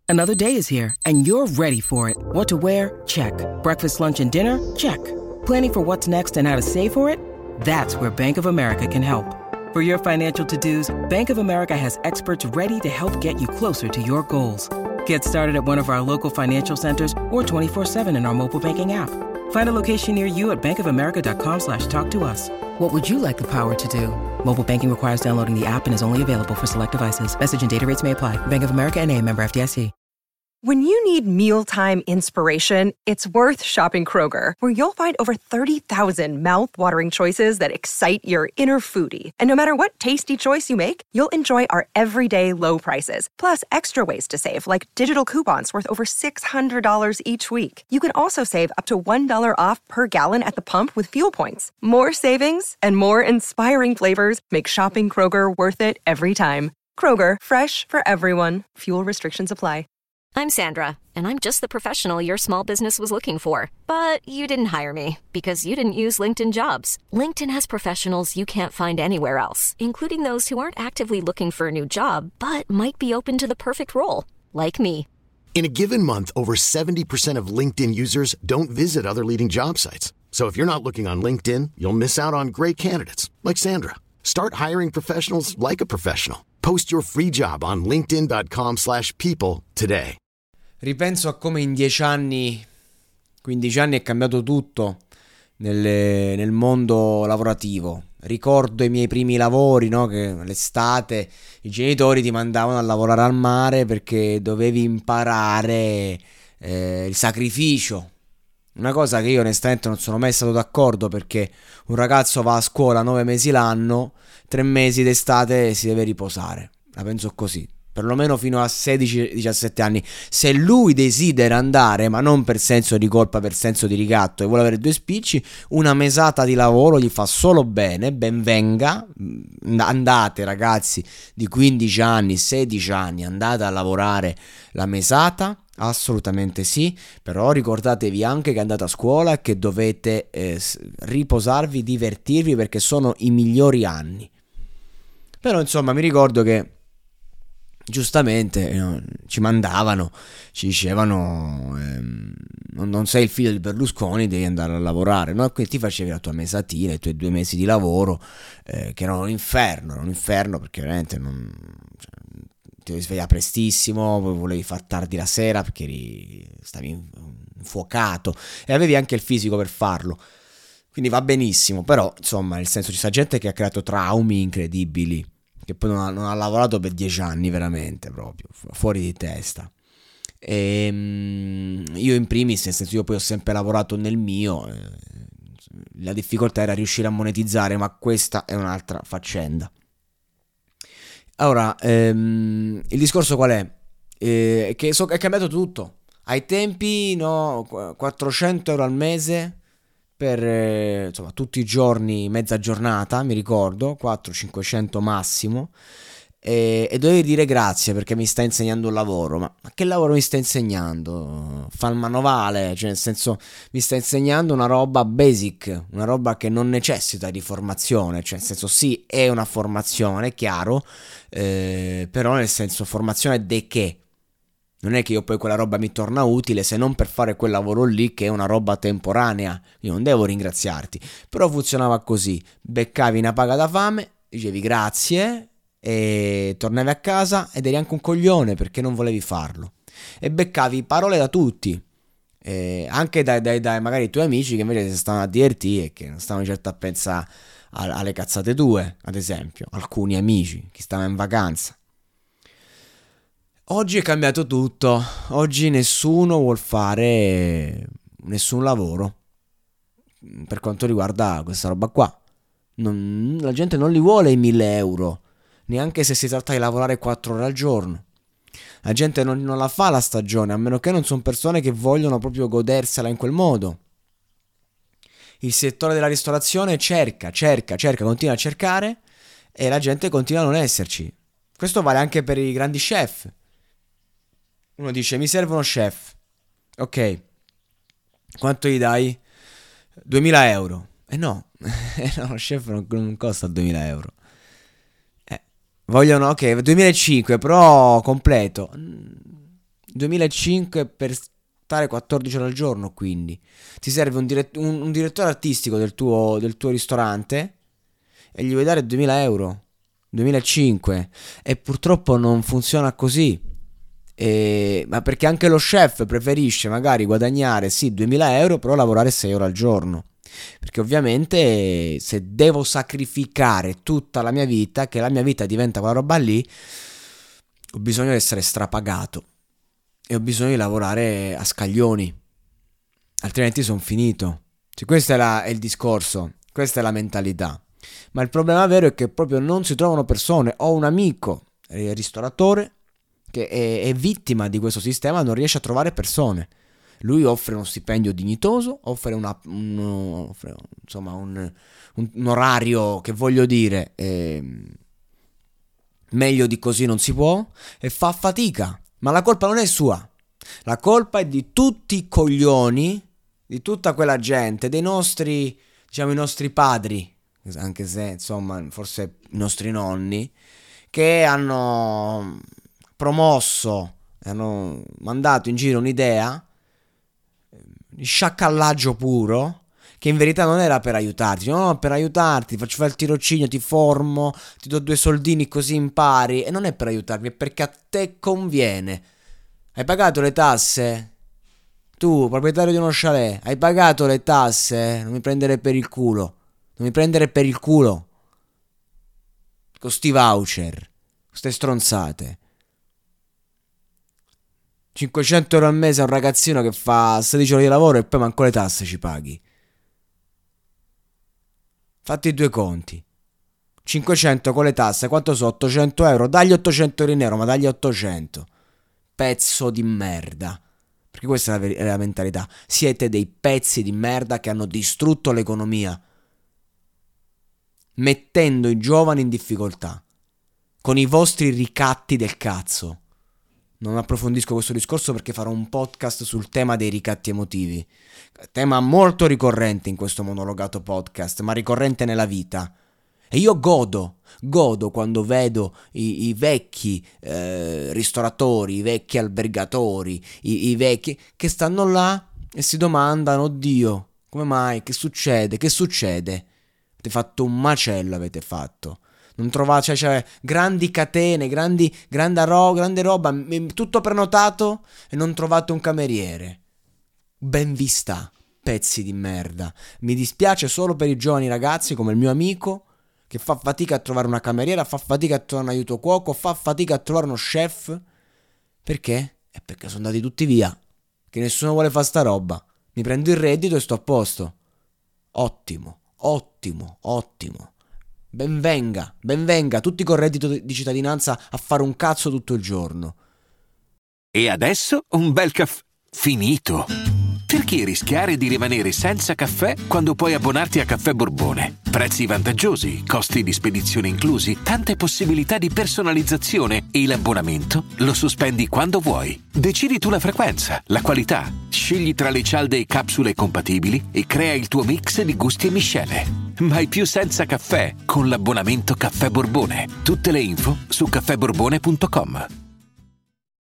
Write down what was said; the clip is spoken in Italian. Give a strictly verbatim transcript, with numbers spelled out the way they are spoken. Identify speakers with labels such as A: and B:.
A: Another day is here, and you're ready for it. What to wear? Check. Breakfast, lunch, and dinner? Check. Planning for what's next and how to save for it? That's where Bank of America can help. For your financial to-dos, Bank of America has experts ready to help get you closer to your goals. Get started at one of our local financial centers or twenty-four seven in our mobile banking app. Find a location near you at bankofamerica.com slash talk to us. What would you like the power to do? Mobile banking requires downloading the app and is only available for select devices. Message and data rates may apply. Bank of America N A, member F D I C.
B: When you need mealtime inspiration, it's worth shopping Kroger, where you'll find over thirty thousand mouth-watering choices that excite your inner foodie. And no matter what tasty choice you make, you'll enjoy our everyday low prices, plus extra ways to save, like digital coupons worth over six hundred dollars each week. You can also save up to one dollar off per gallon at the pump with fuel points. More savings and more inspiring flavors make shopping Kroger worth it every time. Kroger, fresh for everyone. Fuel restrictions apply.
C: I'm Sandra, and I'm just the professional your small business was looking for. But you didn't hire me because you didn't use LinkedIn Jobs. LinkedIn has professionals you can't find anywhere else, including those who aren't actively looking for a new job, but might be open to the perfect role, like me.
D: In a given month, over seventy percent of LinkedIn users don't visit other leading job sites. So if you're not looking on LinkedIn, you'll miss out on great candidates, like Sandra. Start hiring professionals like a professional. Post your free job on linkedin.com slash people today.
E: Ripenso a come in dieci anni, quindici anni è cambiato tutto nel, nel mondo lavorativo. Ricordo i miei primi lavori, no? Che l'estate i genitori ti mandavano a lavorare al mare perché dovevi imparare eh, il sacrificio. Una cosa che io onestamente non sono mai stato d'accordo, perché un ragazzo va a scuola nove mesi l'anno, tre mesi d'estate si deve riposare. La penso così, perlomeno fino a sedici diciassette anni. Se lui desidera andare, ma non per senso di colpa, per senso di ricatto, e vuole avere due spicci, una mesata di lavoro gli fa solo bene, ben venga. Andate ragazzi di quindici anni, sedici anni, andate a lavorare la mesata. Assolutamente sì, però ricordatevi anche che andate a scuola e che dovete eh, riposarvi, divertirvi, perché sono i migliori anni. Però insomma mi ricordo che giustamente eh, ci mandavano, ci dicevano ehm, non, non sei il figlio di Berlusconi, devi andare a lavorare, no? Quindi ti facevi la tua mesatina, i tuoi due mesi di lavoro eh, che erano un inferno, erano un inferno perché veramente non... Cioè, ti devi svegliare prestissimo, poi volevi far tardi la sera perché eri, stavi infuocato e avevi anche il fisico per farlo, quindi va benissimo. Però insomma, nel senso, ci sta gente che ha creato traumi incredibili, che poi non ha, non ha lavorato per dieci anni, veramente proprio fuori di testa. E io in primis, nel senso, io poi ho sempre lavorato nel mio, eh, la difficoltà era riuscire a monetizzare, ma questa è un'altra faccenda. Ora, ehm, il discorso qual è? Eh, che so, è cambiato tutto. Ai tempi, no, quattrocento euro al mese per eh, insomma tutti i giorni, mezza giornata, mi ricordo, quattrocento cinquecento massimo. E, e dovevi dire grazie perché mi sta insegnando un lavoro. Ma, ma che lavoro mi sta insegnando? Fa il manovale, cioè nel senso, mi sta insegnando una roba basic, una roba che non necessita di formazione, cioè nel senso sì, è una formazione, chiaro, eh, però nel senso, formazione de che? Non è che io poi quella roba mi torna utile se non per fare quel lavoro lì che è una roba temporanea. Io non devo ringraziarti. Però funzionava così: beccavi una paga da fame, dicevi grazie e tornavi a casa ed eri anche un coglione perché non volevi farlo, e beccavi parole da tutti, eh, anche dai, dai, dai magari i tuoi amici che invece si stavano a divertire e che non stavano certo a pensare a, alle cazzate tue, ad esempio alcuni amici che stavano in vacanza. Oggi è cambiato tutto, oggi nessuno vuol fare nessun lavoro per quanto riguarda questa roba qua. Non, la gente non li vuole i mille euro, neanche se si tratta di lavorare quattro ore al giorno. La gente non, non la fa la stagione, a meno che non sono persone che vogliono proprio godersela in quel modo. Il settore della ristorazione cerca, cerca, cerca, continua a cercare, e la gente continua a non esserci. Questo vale anche per i grandi chef. Uno dice mi serve uno chef, ok, quanto gli dai? duemila euro. E eh no, lo chef non, non costa duemila euro. Vogliono, ok, duemilacinque, però completo. duemilacinque per stare quattordici ore al giorno, quindi ti serve un, dirett- un, un direttore artistico del tuo, del tuo ristorante e gli vuoi dare duemila euro, duemilacinque, e purtroppo non funziona così. E, ma perché anche lo chef preferisce magari guadagnare sì duemila euro, però lavorare sei ore al giorno, perché ovviamente se devo sacrificare tutta la mia vita, che la mia vita diventa quella roba lì, ho bisogno di essere strapagato e ho bisogno di lavorare a scaglioni, altrimenti sono finito. Cioè, questo è, la, è il discorso, questa è la mentalità. Ma il problema vero è che proprio non si trovano persone. Ho un amico eh, ristoratore che è, è vittima di questo sistema, non riesce a trovare persone. Lui offre uno stipendio dignitoso, offre, una, un, offre insomma un, un, un orario che, voglio dire, eh, meglio di così non si può, e fa fatica. Ma la colpa non è sua, la colpa è di tutti i coglioni, di tutta quella gente, dei nostri, diciamo i nostri padri, anche se insomma forse i nostri nonni, che hanno promosso, hanno mandato in giro un'idea di sciacallaggio puro, che in verità non era per aiutarti. No, per aiutarti, ti faccio fare il tirocinio, ti formo, ti do due soldini così impari. E non è per aiutarmi, è perché a te conviene. Hai pagato le tasse? Tu, proprietario di uno chalet, hai pagato le tasse? Non mi prendere per il culo. Non mi prendere per il culo con sti voucher, queste stronzate. cinquecento euro al mese a un ragazzino che fa sedici ore di lavoro e poi manco le tasse ci paghi. Fatti i due conti. cinquecento con le tasse, quanto sono? ottocento euro. Dagli ottocento euro in nero, ma dagli ottocento. Pezzo di merda. Perché questa è la, ver- è la mentalità. Siete dei pezzi di merda che hanno distrutto l'economia, mettendo i giovani in difficoltà con i vostri ricatti del cazzo. Non approfondisco questo discorso perché farò un podcast sul tema dei ricatti emotivi, tema molto ricorrente in questo monologato podcast, ma ricorrente nella vita. E io godo, godo quando vedo i, i vecchi eh, ristoratori, i vecchi albergatori, i, i vecchi che stanno là e si domandano: oddio, come mai? Che succede? Che succede? Avete fatto un macello, avete fatto. Non trovate, cioè, cioè grandi catene, grandi, grande, ro- grande roba, m- tutto prenotato e non trovate un cameriere. Ben vi sta, pezzi di merda. Mi dispiace solo per i giovani ragazzi come il mio amico, che fa fatica a trovare una cameriera, fa fatica a trovare un aiuto cuoco, fa fatica a trovare uno chef. Perché? È perché sono andati tutti via, che nessuno vuole fare sta roba. Mi prendo il reddito e sto a posto. Ottimo, ottimo, ottimo. Benvenga, benvenga, tutti con reddito di cittadinanza a fare un cazzo tutto il giorno.
F: E adesso un bel caffè finito. Perché rischiare di rimanere senza caffè quando puoi abbonarti a Caffè Borbone? Prezzi vantaggiosi, costi di spedizione inclusi, tante possibilità di personalizzazione e l'abbonamento lo sospendi quando vuoi. Decidi tu la frequenza, la qualità, scegli tra le cialde e capsule compatibili e crea il tuo mix di gusti e miscele. Mai più senza caffè con l'abbonamento Caffè Borbone. Tutte le info su caffè borbone punto com.